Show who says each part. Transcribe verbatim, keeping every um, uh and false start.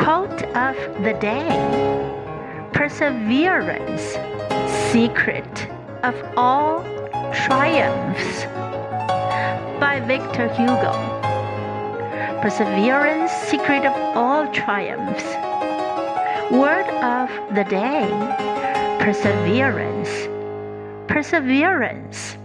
Speaker 1: Quote of the day: Perseverance, secret of all triumphs. By Victor Hugo. Perseverance, secret of all triumphs. Word of the day: perseverance. Perseverance.